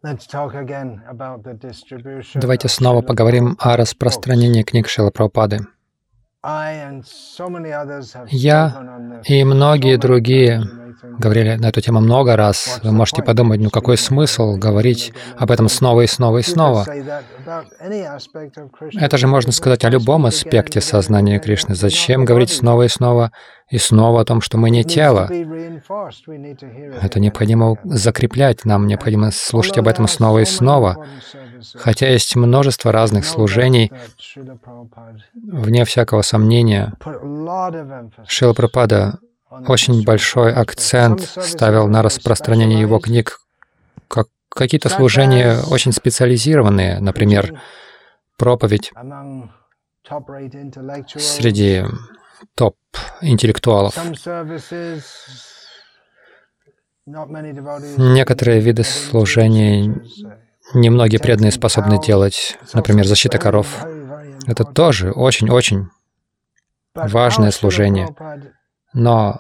Давайте снова поговорим о распространении книг Шрилы Прабхупады. Я и многие другие говорили на эту тему много раз. Вы можете подумать, ну какой смысл говорить об этом снова и снова и снова? Это же можно сказать о любом аспекте сознания Кришны. Зачем говорить снова и снова о том, что мы не тело? Это необходимо закреплять, нам необходимо слушать об этом снова и снова. Хотя есть множество разных служений, вне всякого сомнения, Шрила Прабхупада очень большой акцент ставил на распространение его книг. Какие-то служения очень специализированные, например, проповедь среди топ-интеллектуалов. Некоторые виды служений немногие преданные способны делать, например, защита коров. Это тоже очень-очень важное служение. Но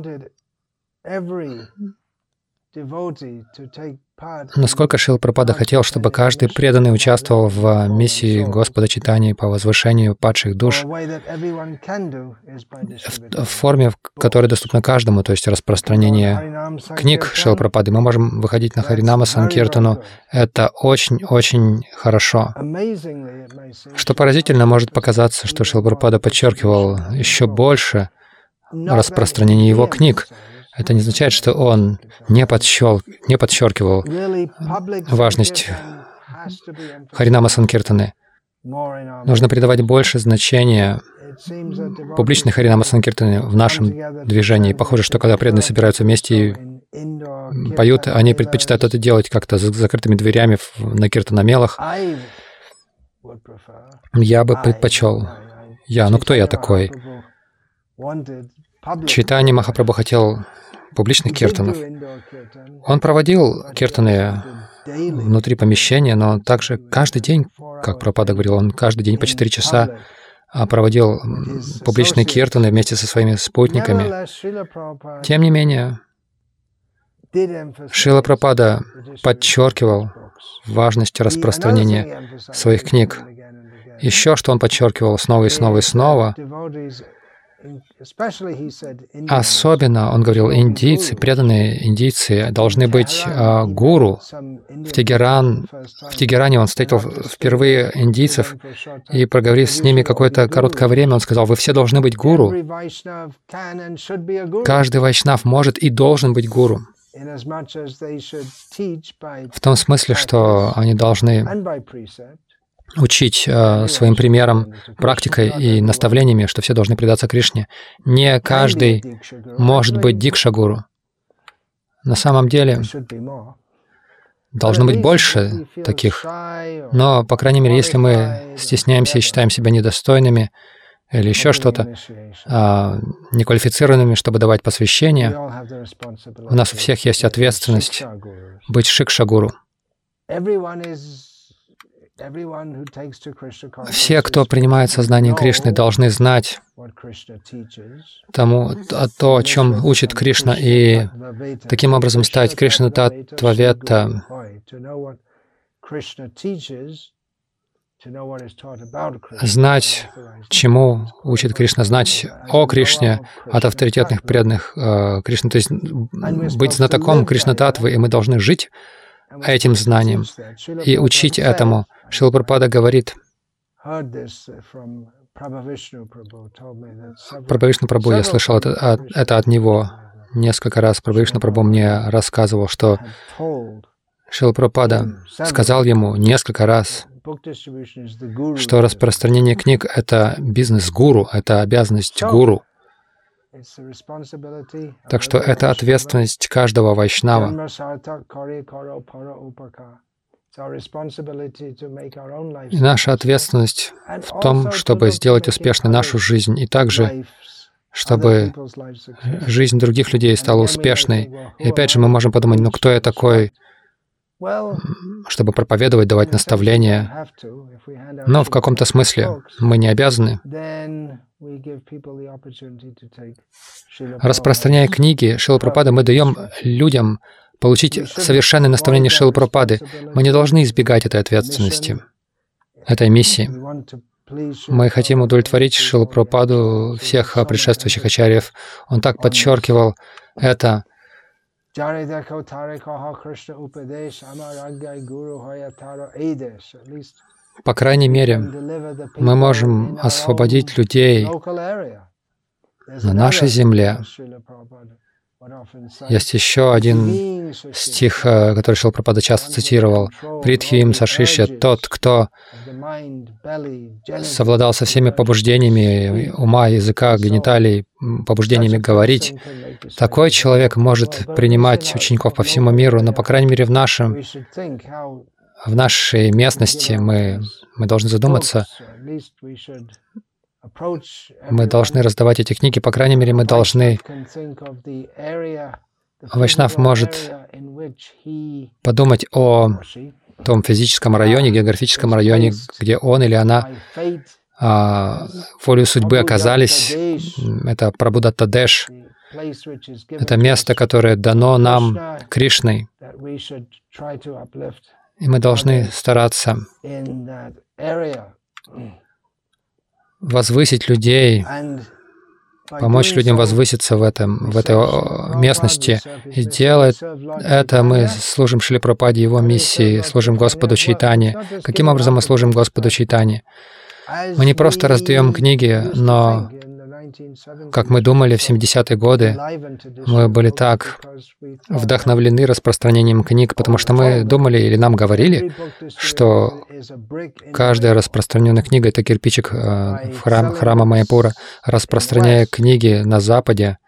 насколько Шрила Прабхупада хотел, чтобы каждый преданный участвовал в миссии Господа Чайтаньи по возвышению падших душ в форме, которая доступна каждому, то есть распространение книг Шрилы Прабхупады. Мы можем выходить на Харинама Санкиртану. Это очень-очень хорошо. Что поразительно, может показаться, что Шрила Прабхупада подчеркивал еще больше распространение его книг. Это не означает, что он не подчеркивал важность Харинама Санкиртаны. Нужно придавать больше значения публичной Харинама Санкиртаны в нашем движении. Похоже, что когда преданные собираются вместе и поют, они предпочитают это делать как-то за закрытыми дверями на киртанамелах. Я бы предпочел. Ну кто я такой? Чайтанья Махапрабху хотел публичных киртанов. Он проводил киртаны внутри помещения, но также каждый день, как Прабхупада говорил, он каждый день по 4 часа проводил публичные киртаны вместе со своими спутниками. Тем не менее, Шрила Прабхупада подчеркивал важность распространения своих книг. Еще что он подчеркивал снова и снова и снова, особенно, он говорил, индийцы, преданные индийцы должны быть гуру. В Тегеране он встретил впервые индийцев, и, проговорив с ними какое-то короткое время, он сказал: вы все должны быть гуру. Каждый вайшнав может и должен быть гуру. В том смысле, что они должны учить своим примером, практикой и наставлениями, что все должны предаться Кришне. Не каждый может быть дикша-гуру. На самом деле, должно быть больше таких. Но, по крайней мере, если мы стесняемся и считаем себя недостойными или еще что-то, неквалифицированными, чтобы давать посвящение, у нас у всех есть ответственность быть шикша-гуру. Все, кто принимает сознание Кришны, должны знать то, о чем учит Кришна, и таким образом стать Кришна Таттва-ветта, знать, чему учит Кришна, знать о Кришне от авторитетных преданных Кришны, то есть быть знатоком Кришна-таттвы, и мы должны жить этим знанием и учить этому. Шрила Прабхупада говорит, Прабхавишну Прабху, я слышал это от него несколько раз. Прабхавишну Прабху мне рассказывал, что Шрила Прабхупада сказал ему несколько раз, что распространение книг — это бизнес гуру, это обязанность гуру. Так что это ответственность каждого вайшнава. И наша ответственность в том, чтобы сделать успешной нашу жизнь, и также, чтобы жизнь других людей стала успешной. И опять же мы можем подумать, ну кто я такой, чтобы проповедовать, давать наставления. Но в каком-то смысле мы не обязаны. Распространяя книги Шрилы Прабхупады, мы даем людям получить совершенное наставление Шрилы Прабхупады. Мы не должны избегать этой ответственности, этой миссии. Мы хотим удовлетворить Шрилу Прабхупаду, всех предшествующих ачарьев. Он так подчеркивал это. По крайней мере, мы можем освободить людей на нашей земле. Есть еще один стих, который Шрила Прабхупада часто цитировал. «Притхим сашишья» — тот, кто совладал со всеми побуждениями ума, языка, гениталий, побуждениями говорить. Такой человек может принимать учеников по всему миру, но, по крайней мере, в нашей местности мы должны задуматься, мы должны раздавать эти книги, по крайней мере, мы должны... Вайшнав может подумать о том физическом районе, географическом районе, где он или она волею судьбы оказались. Это Прабхудатта-Деш. Это место, которое дано нам Кришной. И мы должны стараться возвысить людей, помочь людям возвыситься в этой местности. И делая это, мы служим Шриле Прабхупаде, его миссии, служим Господу Чайтанье. Каким образом мы служим Господу Чайтанье? Мы не просто раздаем книги, но, как мы думали в 70-е годы, мы были так вдохновлены распространением книг, потому что мы думали или нам говорили, что каждая распространенная книга — это кирпичик в храма Майяпура. Распространяя книги на Западе,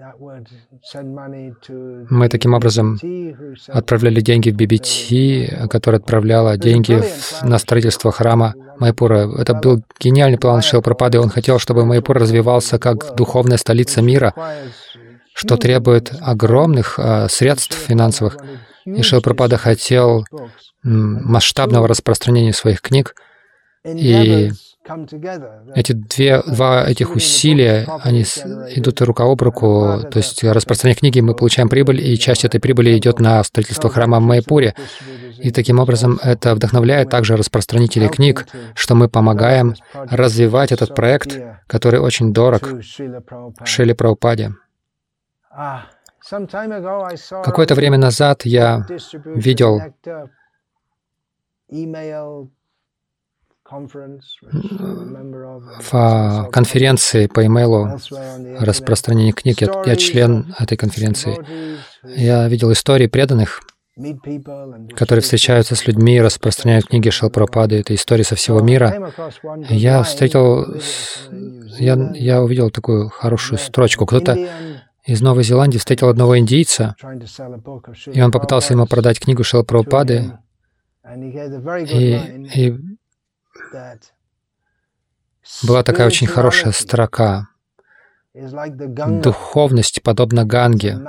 мы таким образом отправляли деньги в BBT, которая отправляла деньги на строительство храма Майяпура. Это был гениальный план Шрилы Прабхупады. Он хотел, чтобы Майяпур развивался как духовная столица мира, что требует огромных средств финансовых. И Шрила Прабхупада хотел масштабного распространения своих книг. И эти два этих усилия, они идут рука об руку. То есть, распространяя книги, мы получаем прибыль, и часть этой прибыли идет на строительство храма в Майяпуре. И таким образом это вдохновляет также распространителей книг, что мы помогаем развивать этот проект, который очень дорог Шриле Прабхупаде. Какое-то время назад я видел в конференции по имейлу распространения книг. Я член этой конференции. Я видел истории преданных, которые встречаются с людьми и распространяют книги Шрилы Прабхупады. Это истории со всего мира. Я увидел такую хорошую строчку. Кто-то из Новой Зеландии встретил одного индийца, и он попытался ему продать книгу Шрилы Прабхупады. И была такая очень хорошая строка. Духовность подобна Ганге.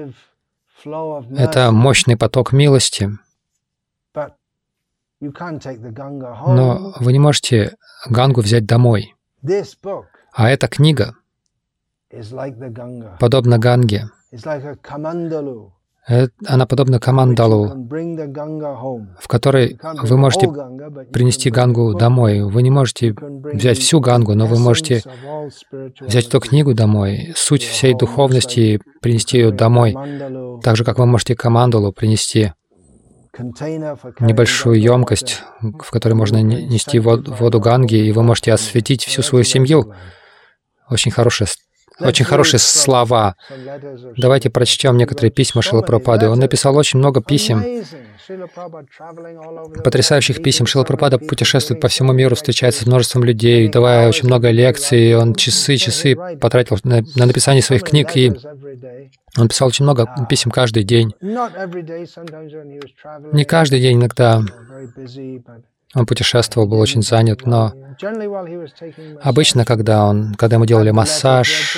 Это мощный поток милости. Но вы не можете Гангу взять домой. А эта книга подобна Ганге. Она подобна камандалу, в которой вы можете принести Гангу домой. Вы не можете взять всю Гангу, но вы можете взять эту книгу домой, суть всей духовности, принести ее домой. Так же, как вы можете камандалу принести небольшую емкость, в которой можно нести воду Ганги, и вы можете осветить всю свою семью. Очень хорошие слова. Давайте прочтем некоторые письма Шрилы Прабхупады. Он написал очень много писем, потрясающих писем. Шрила Прабхупада путешествует по всему миру, встречается с множеством людей, давая очень много лекций. Он часы потратил на написание своих книг, и он писал очень много писем каждый день. Не каждый день, иногда он путешествовал, был очень занят, но обычно, когда ему делали массаж,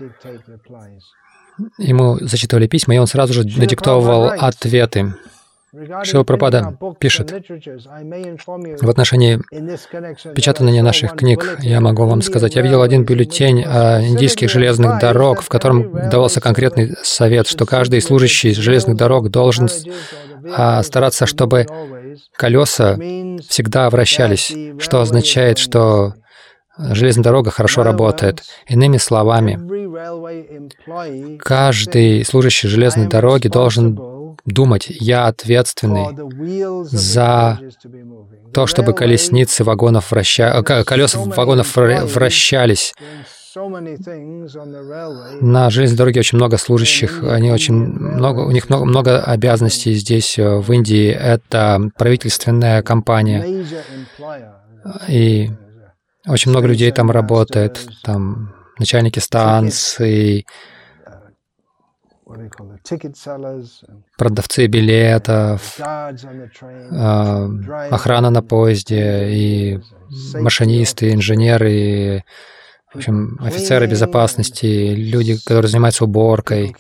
ему зачитывали письма, и он сразу же надиктовывал ответы. Шрила Прабхупада пишет: в отношении печатания наших книг я могу вам сказать, я видел один бюллетень индийских железных дорог, в котором давался конкретный совет, что каждый служащий железных дорог должен стараться, чтобы колеса всегда вращались, что означает, что железная дорога хорошо работает. Иными словами, каждый служащий железной дороги должен думать: я ответственный за то, чтобы колеса вагонов вращались. На железной дороге очень много служащих, у них много обязанностей здесь, в Индии. Это правительственная компания, и очень много людей там работает, там начальники станций, продавцы билетов, охрана на поезде, и машинисты, инженеры, и, в общем, офицеры безопасности, люди, которые занимаются уборкой,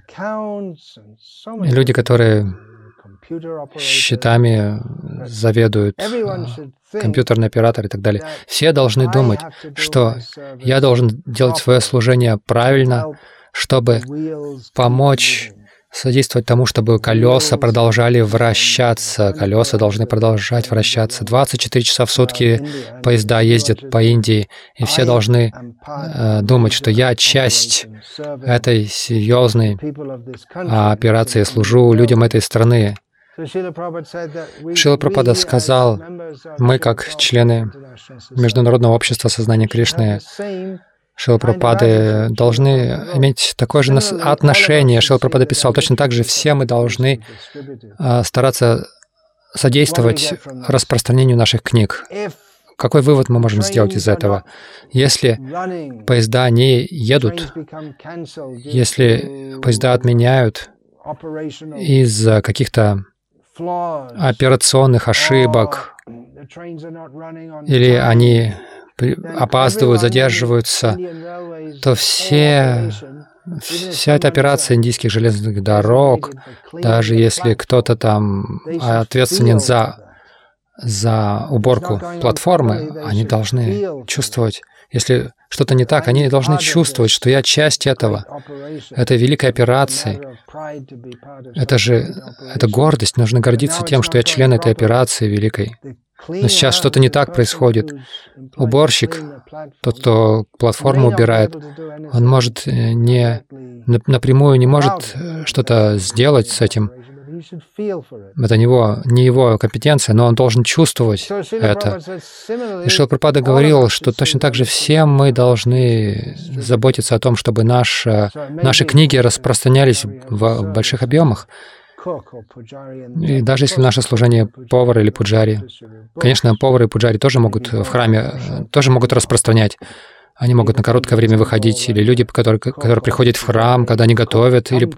и люди, которые счетами заведуют, компьютерный оператор и так далее. Все должны думать, что я должен делать свое служение правильно, чтобы помочь содействовать тому, чтобы колеса продолжали вращаться. Колеса должны продолжать вращаться. 24 часа в сутки поезда ездят по Индии, и все должны думать, что я часть этой серьезной операции, служу людям этой страны. Шрила Прабхупада сказал: мы, как члены Международного общества сознания Кришны, Шрила Прабхупады, должны иметь такое же отношение. Шрила Прабхупада писал: точно так же все мы должны стараться содействовать распространению наших книг. Какой вывод мы можем сделать из этого? Если поезда не едут, если поезда отменяют из-за каких-то операционных ошибок, или они опаздывают, задерживаются, то вся эта операция индийских железных дорог, даже если кто-то там ответственен за уборку платформы, они должны чувствовать, если что-то не так, они должны чувствовать, что я часть этой великой операции. Это гордость, нужно гордиться тем, что я член этой операции великой. Но сейчас что-то не так происходит. Уборщик, тот, кто платформу убирает, он напрямую не может что-то сделать с этим. Это не его компетенция, но он должен чувствовать это. И Шрила Прабхупада говорил, что точно так же все мы должны заботиться о том, чтобы наши книги распространялись в больших объемах. И даже если наше служение повар или пуджари, конечно, повары и пуджари тоже могут в храме, тоже могут распространять. Они могут на короткое время выходить, или люди, которые приходят в храм, когда они готовят, или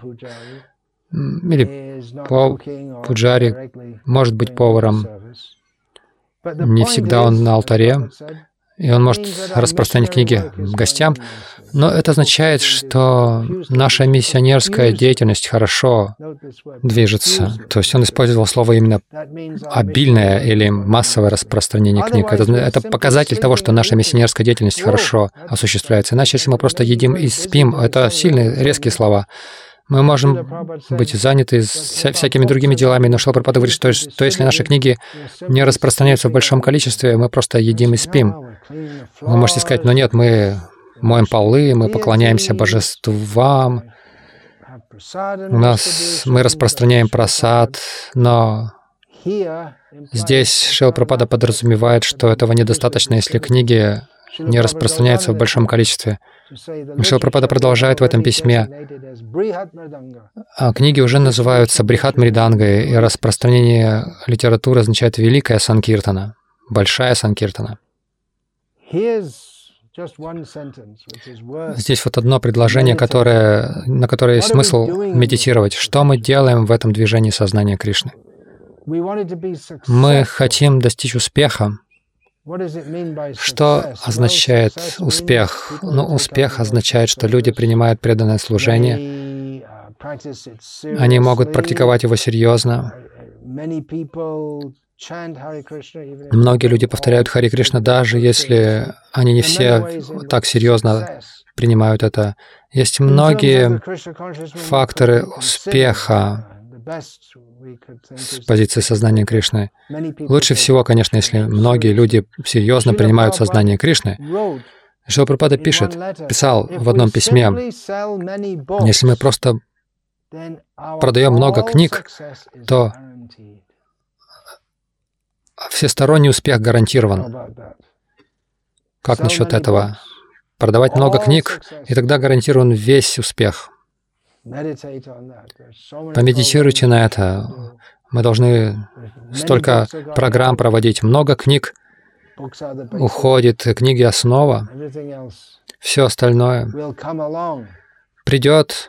пуджари может быть поваром. Не всегда он на алтаре, и он может распространять книги гостям. Но это означает, что наша миссионерская деятельность хорошо движется. То есть он использовал слово именно «обильное» или «массовое распространение книг». Это показатель того, что наша миссионерская деятельность хорошо осуществляется. Иначе, если мы просто едим и спим, это сильные, резкие слова. Мы можем быть заняты всякими другими делами, но Шрила Прабхупада говорит, что если наши книги не распространяются в большом количестве, мы просто едим и спим. Вы можете сказать: но нет, мы моем полы, мы поклоняемся божествам, мы распространяем прасад, но здесь Шрила Прабхупада подразумевает, что этого недостаточно, если книги не распространяются в большом количестве. Шрила Прабхупада продолжает в этом письме. Книги уже называются Брихат Мридангой, и распространение литературы означает великая санкиртана, большая санкиртана. Здесь вот одно предложение, на которое есть смысл медитировать. Что мы делаем в этом движении сознания Кришны? Мы хотим достичь успеха. Что означает успех? Ну, успех означает, что люди принимают преданное служение, они могут практиковать его серьезно, Многие люди повторяют Хари Кришна, даже если они не все так серьезно принимают это. Есть многие факторы успеха с позиции сознания Кришны. Лучше всего, конечно, если многие люди серьезно принимают сознание Кришны. Шрила Прабхупада писал в одном письме, если мы просто продаем много книг, то всесторонний успех гарантирован. Как насчет этого? Продавать много книг, и тогда гарантирован весь успех. Помедитируйте на это. Мы должны столько программ проводить. Много книг уходит, книги — основа. Все остальное придет.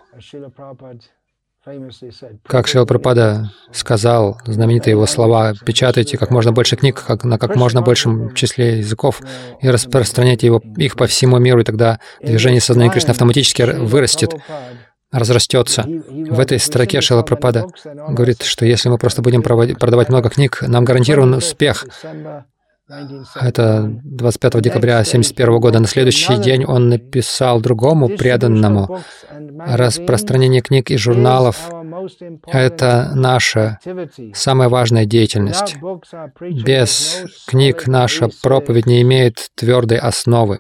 Как Шрила Прабхупада сказал, знаменитые его слова: «Печатайте как можно больше книг на как можно большем числе языков и распространяйте их по всему миру, и тогда движение сознания Кришны автоматически вырастет, разрастется». В этой строке Шрила Прабхупада говорит, что если мы просто будем продавать много книг, нам гарантирован успех. Это 25 декабря 1971 года. На следующий день он написал другому преданному: «Распространение книг и журналов — это наша самая важная деятельность. Без книг наша проповедь не имеет твердой основы.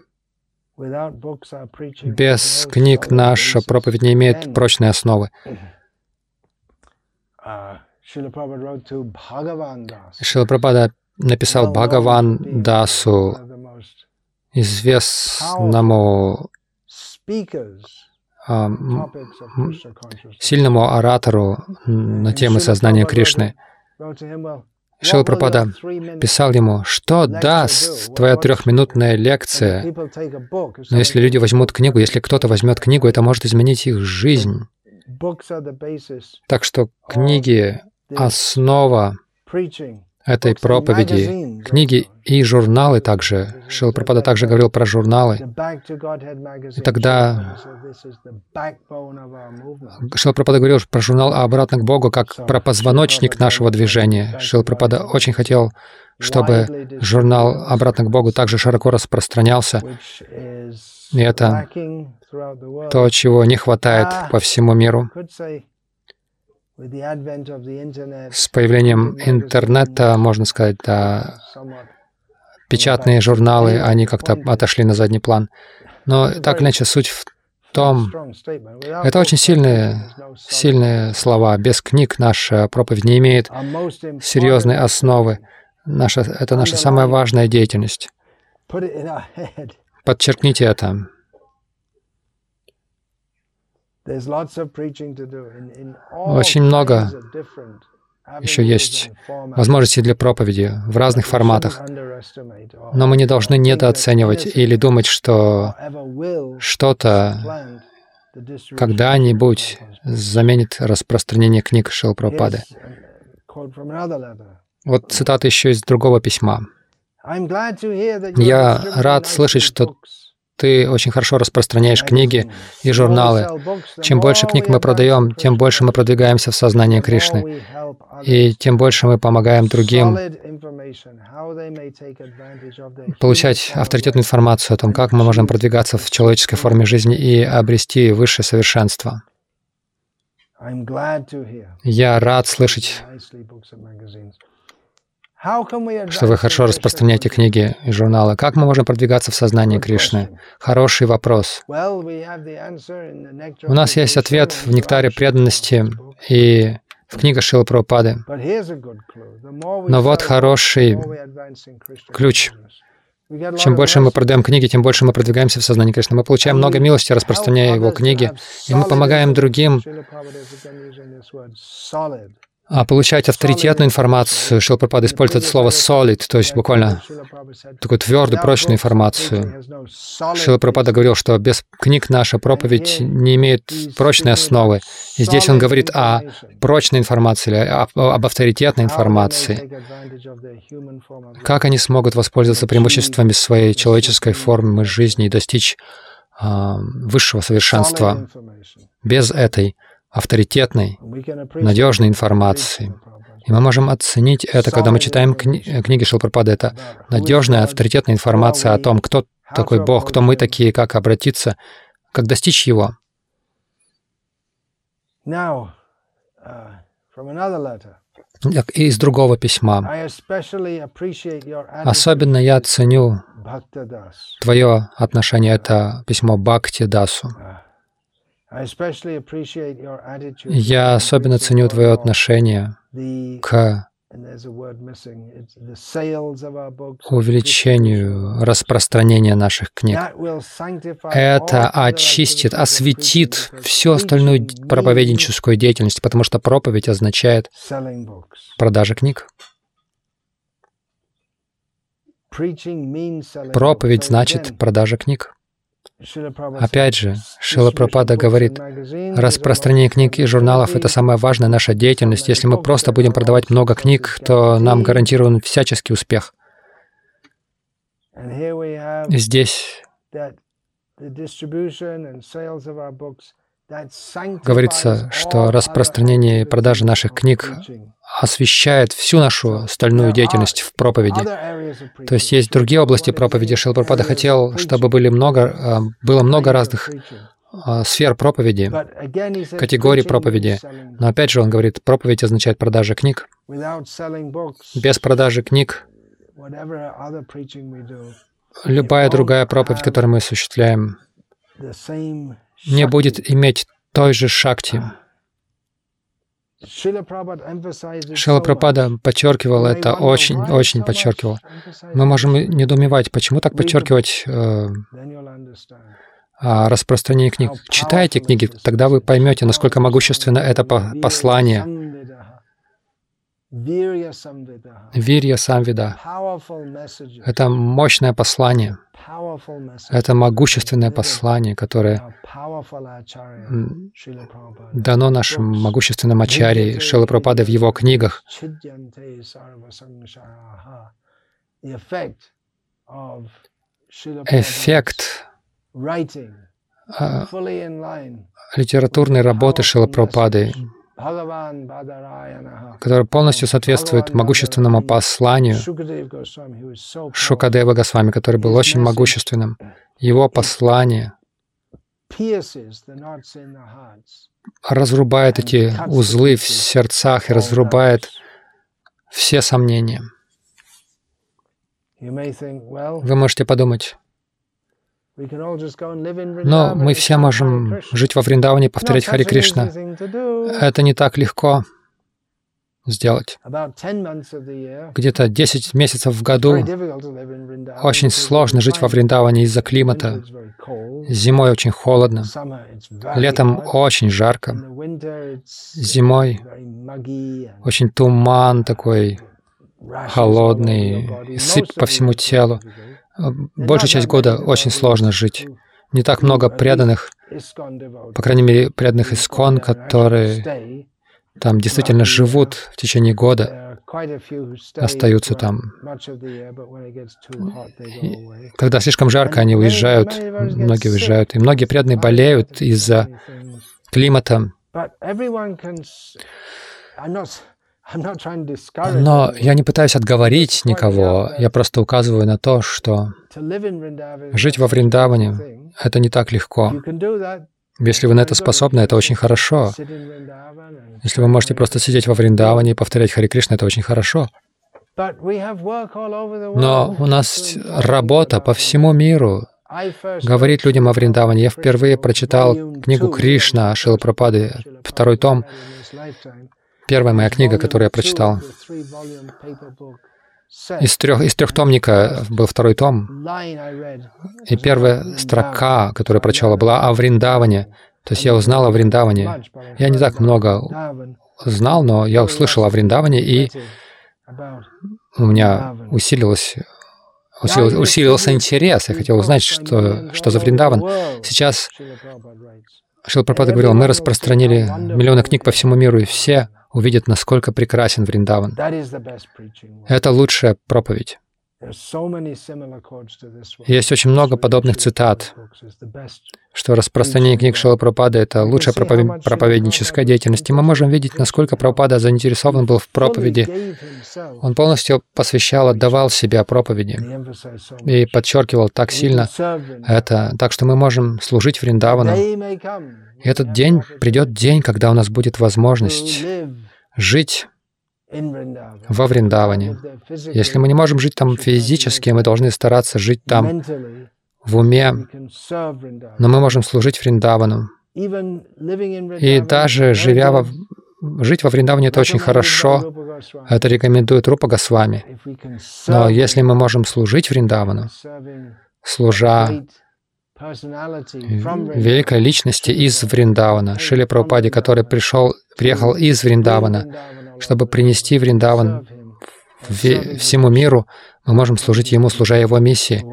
Без книг наша проповедь не имеет прочной основы». Шрила Прабхупада написал Бхагаван Дасу, известному сильному оратору на темы сознания Кришны. Шрила Прабхупада писал ему: «Что даст твоя трехминутная лекция? Но если люди возьмут книгу, если кто-то возьмет книгу, это может изменить их жизнь». Так что книги — основа этой проповеди. Книги и журналы также. Шрила Прабхупада также говорил про журналы. И тогда Шрила Прабхупада говорил про журнал «Обратно к Богу» как про позвоночник нашего движения. Шрила Прабхупада очень хотел, чтобы журнал «Обратно к Богу» также широко распространялся. И это то, чего не хватает по всему миру. С появлением интернета, можно сказать, да, печатные журналы, они как-то отошли на задний план. Но так или иначе, суть в том, это очень сильные слова. Без книг наша проповедь не имеет серьезной основы. Это наша самая важная деятельность. Подчеркните это. Очень много еще есть возможностей для проповеди в разных форматах. Но мы не должны недооценивать или думать, что что-то когда-нибудь заменит распространение книг Шрилы Прабхупады. Вот цитата еще из другого письма. «Я рад слышать, что ты очень хорошо распространяешь книги и журналы. Чем больше книг мы продаем, тем больше мы продвигаемся в сознании Кришны. И тем больше мы помогаем другим получать авторитетную информацию о том, как мы можем продвигаться в человеческой форме жизни и обрести высшее совершенство. Я рад слышать, что вы хорошо распространяете книги и журналы. Как мы можем продвигаться в сознании Кришны? Хороший вопрос. У нас есть ответ в «Нектаре преданности» и в книгах Шрилы Прабхупады. Но вот хороший ключ. Чем больше мы продаем книги, тем больше мы продвигаемся в сознании Кришны. Мы получаем много милости, распространяя его книги, и мы помогаем другим получать авторитетную информацию. Шрила Прабхупада использует это слово solid, то есть буквально такую твердую, прочную информацию. Шрила Прабхупада говорил, что без книг наша проповедь не имеет прочной основы. И здесь он говорит о прочной информации, или об авторитетной информации. Как они смогут воспользоваться преимуществами своей человеческой формы жизни и достичь высшего совершенства без этой авторитетной, надежной информации. И мы можем оценить это, когда мы читаем книги Шрилы Прабхупады. Это надежная, авторитетная информация о том, кто такой Бог, кто мы такие, как обратиться, как достичь Его. И из другого письма. Особенно я ценю твое отношение, это письмо Бхакти Дасу. Я особенно ценю твое отношение к увеличению распространения наших книг. Это очистит, осветит всю остальную проповедническую деятельность, потому что проповедь означает продажа книг. Проповедь значит продажа книг. Опять же, Шрила Прабхупада говорит, распространение книг и журналов — это самая важная наша деятельность. Если мы просто будем продавать много книг, то нам гарантирован всяческий успех. Здесь говорится, что распространение и продажа наших книг освещает всю нашу остальную деятельность в проповеди. То есть есть другие области проповеди. Шрила Прабхупада хотел, чтобы было много разных сфер проповеди, категорий проповеди. Но опять же он говорит, проповедь означает продажа книг. Без продажи книг любая другая проповедь, которую мы осуществляем, не будет иметь той же шакти. Шрила Прабхупада подчеркивал это, очень подчеркивал. Мы можем недоумевать, почему так подчеркивать распространение книг. Читайте книги, тогда вы поймете, насколько могущественно это послание. Вирья Самвида. Это мощное послание. Это могущественное послание, которое дано нашим могущественным ачарье Шрила Прабхупады в его книгах. Эффект литературной работы Шрилы Прабхупады, который полностью соответствует могущественному посланию Шукадева Госвами, который был очень могущественным. Его послание разрубает эти узлы в сердцах и разрубает все сомнения. Вы можете подумать, но мы все можем жить во Вриндаване и повторять Харе Кришна. Это не так легко сделать. Где-то 10 месяцев в году очень сложно жить во Вриндаване из-за климата. Зимой очень холодно, летом очень жарко, зимой очень туман такой холодный, и сыпь по всему телу. Большую часть года очень сложно жить. Не так много преданных, по крайней мере, преданных ИСККОН, которые там действительно живут в течение года, остаются там. И когда слишком жарко, они уезжают, многие уезжают. И многие преданные болеют из-за климата. Но я не пытаюсь отговорить никого, я просто указываю на то, что жить во Вриндаване — это не так легко. Если вы на это способны, это очень хорошо. Если вы можете просто сидеть во Вриндаване и повторять Харе Кришна, это очень хорошо. Но у нас работа по всему миру. Говорить людям о Вриндаване. Я впервые прочитал книгу Кришна Шрилы Прабхупады, 2 том. Первая моя книга, которую я прочитал. Из трехтомника был 2 том. И первая строка, которую я прочел, была о Вриндаване. То есть я узнал о Вриндаване. Я не так много знал, но я услышал о Вриндаване, и у меня усилился интерес. Я хотел узнать, что за Вриндаван. Сейчас Шрила Прабхупада говорил, мы распространили миллионы книг по всему миру, и все увидят, насколько прекрасен Вриндаван. Это лучшая проповедь. Есть очень много подобных цитат, что распространение книг Шрилы Прабхупады — это лучшая проповедническая деятельность. И мы можем видеть, насколько Прабхупада заинтересован был в проповеди. Он полностью посвящал, отдавал себя проповеди и подчеркивал так сильно это, так что мы можем служить Вриндавану. И этот день, придет день, когда у нас будет возможность жить во Вриндаване. Если мы не можем жить там физически, мы должны стараться жить там в уме, но мы можем служить Вриндавану. И даже жить во Вриндаване — это очень хорошо. Это рекомендует Рупа Госвами. Но если мы можем служить Вриндавану, служа великой личности из Вриндавана, Шриле Прабхупаде, который приехал из Вриндавана, чтобы принести Вриндаван всему миру, мы можем служить Ему, служа Его миссии,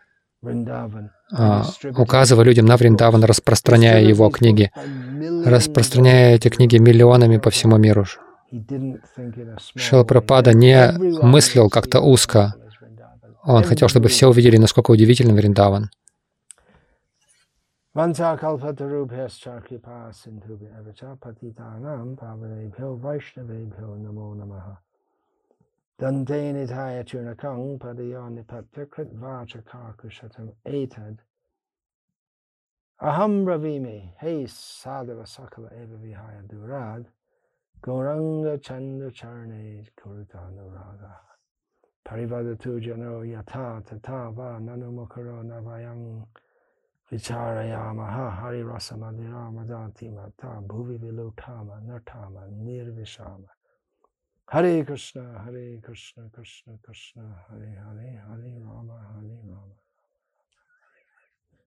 указывая людям на Вриндаван, распространяя Его книги, распространяя эти книги миллионами по всему миру. Шрила Прабхупада не мыслил как-то узко. Он хотел, чтобы все увидели, насколько удивителен Вриндаван. Aham Ravime, hey Sadhava Sakala Eva Vihaya Durad, Gauranga Chanda Charne Kurutanuraga, Parivadatu Jano Yata Tata Va Nanumukaro Navayang Vicharayamaha Hari Rasamadira Madati Mata Bhuvi Vilutama Nartama Nirvishama. Hare Krishna, Hare Krishna, Krishna Krishna, Hare Hare, Hare Rama, Hare Rama.